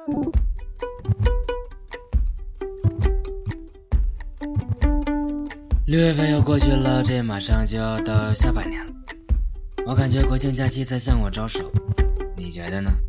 6月份又过去了，这马上就要到下半年了。我感觉国庆假期在向我招手，你觉得呢？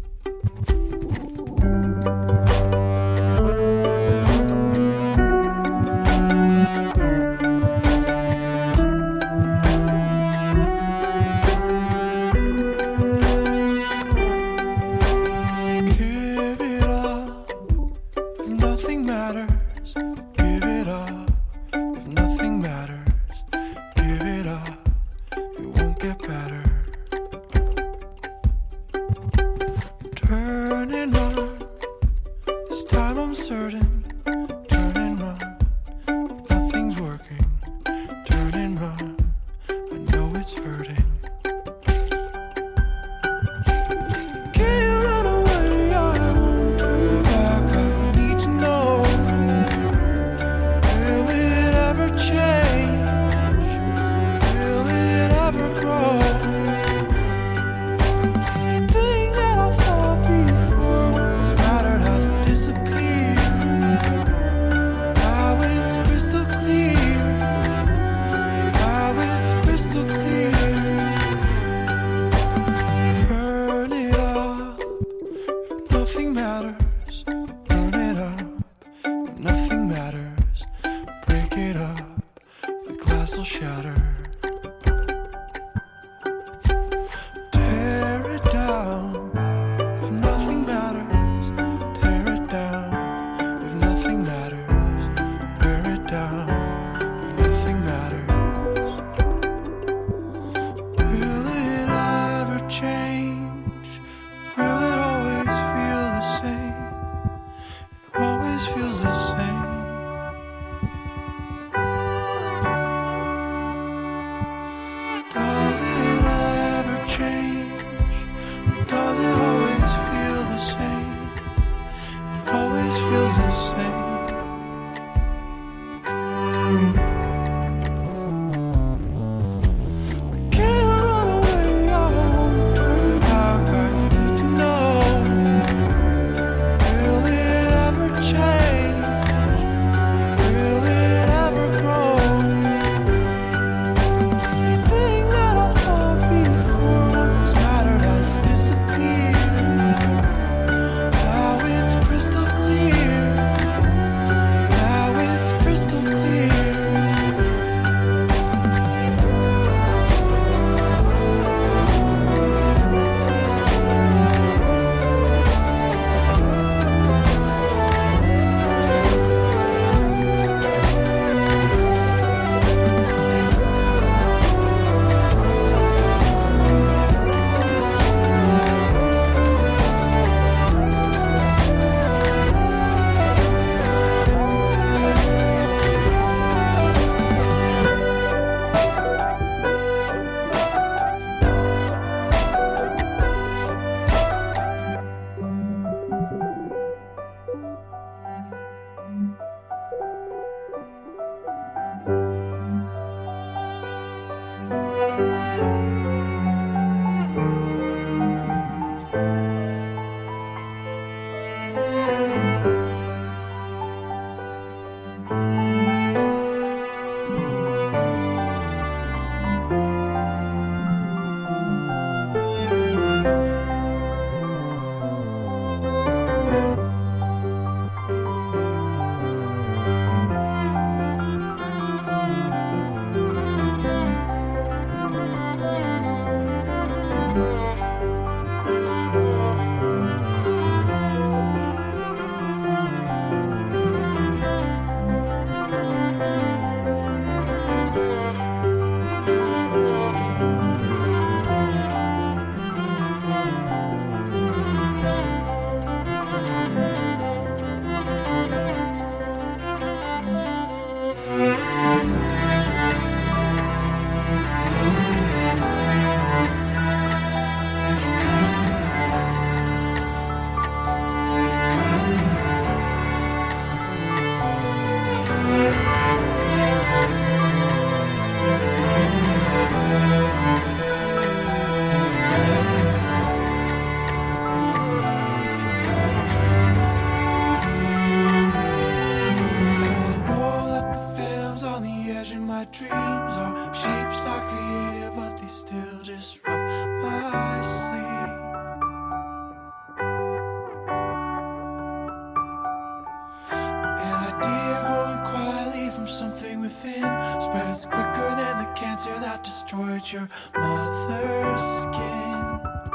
within spreads quicker than the cancer that destroyed your mother's skin.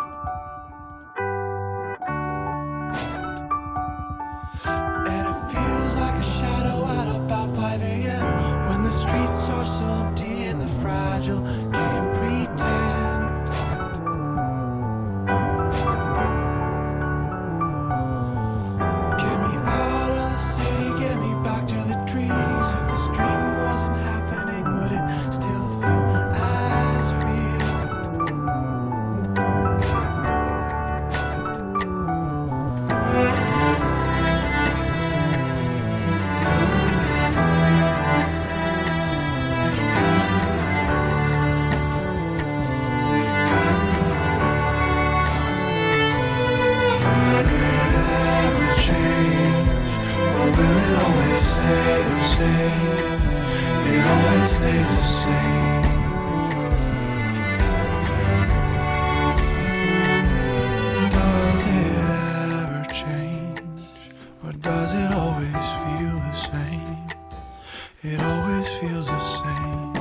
And it feels like a shadow at about 5 a.m. when the streets are so empty and the fragile can't pretend. Get me out of the city, get me back to the trees. If this dream wasn't happening, would it still feel as real? Will it always stay the same? It always stays the same. Does it ever change? Or does it always feel the same? It always feels the same.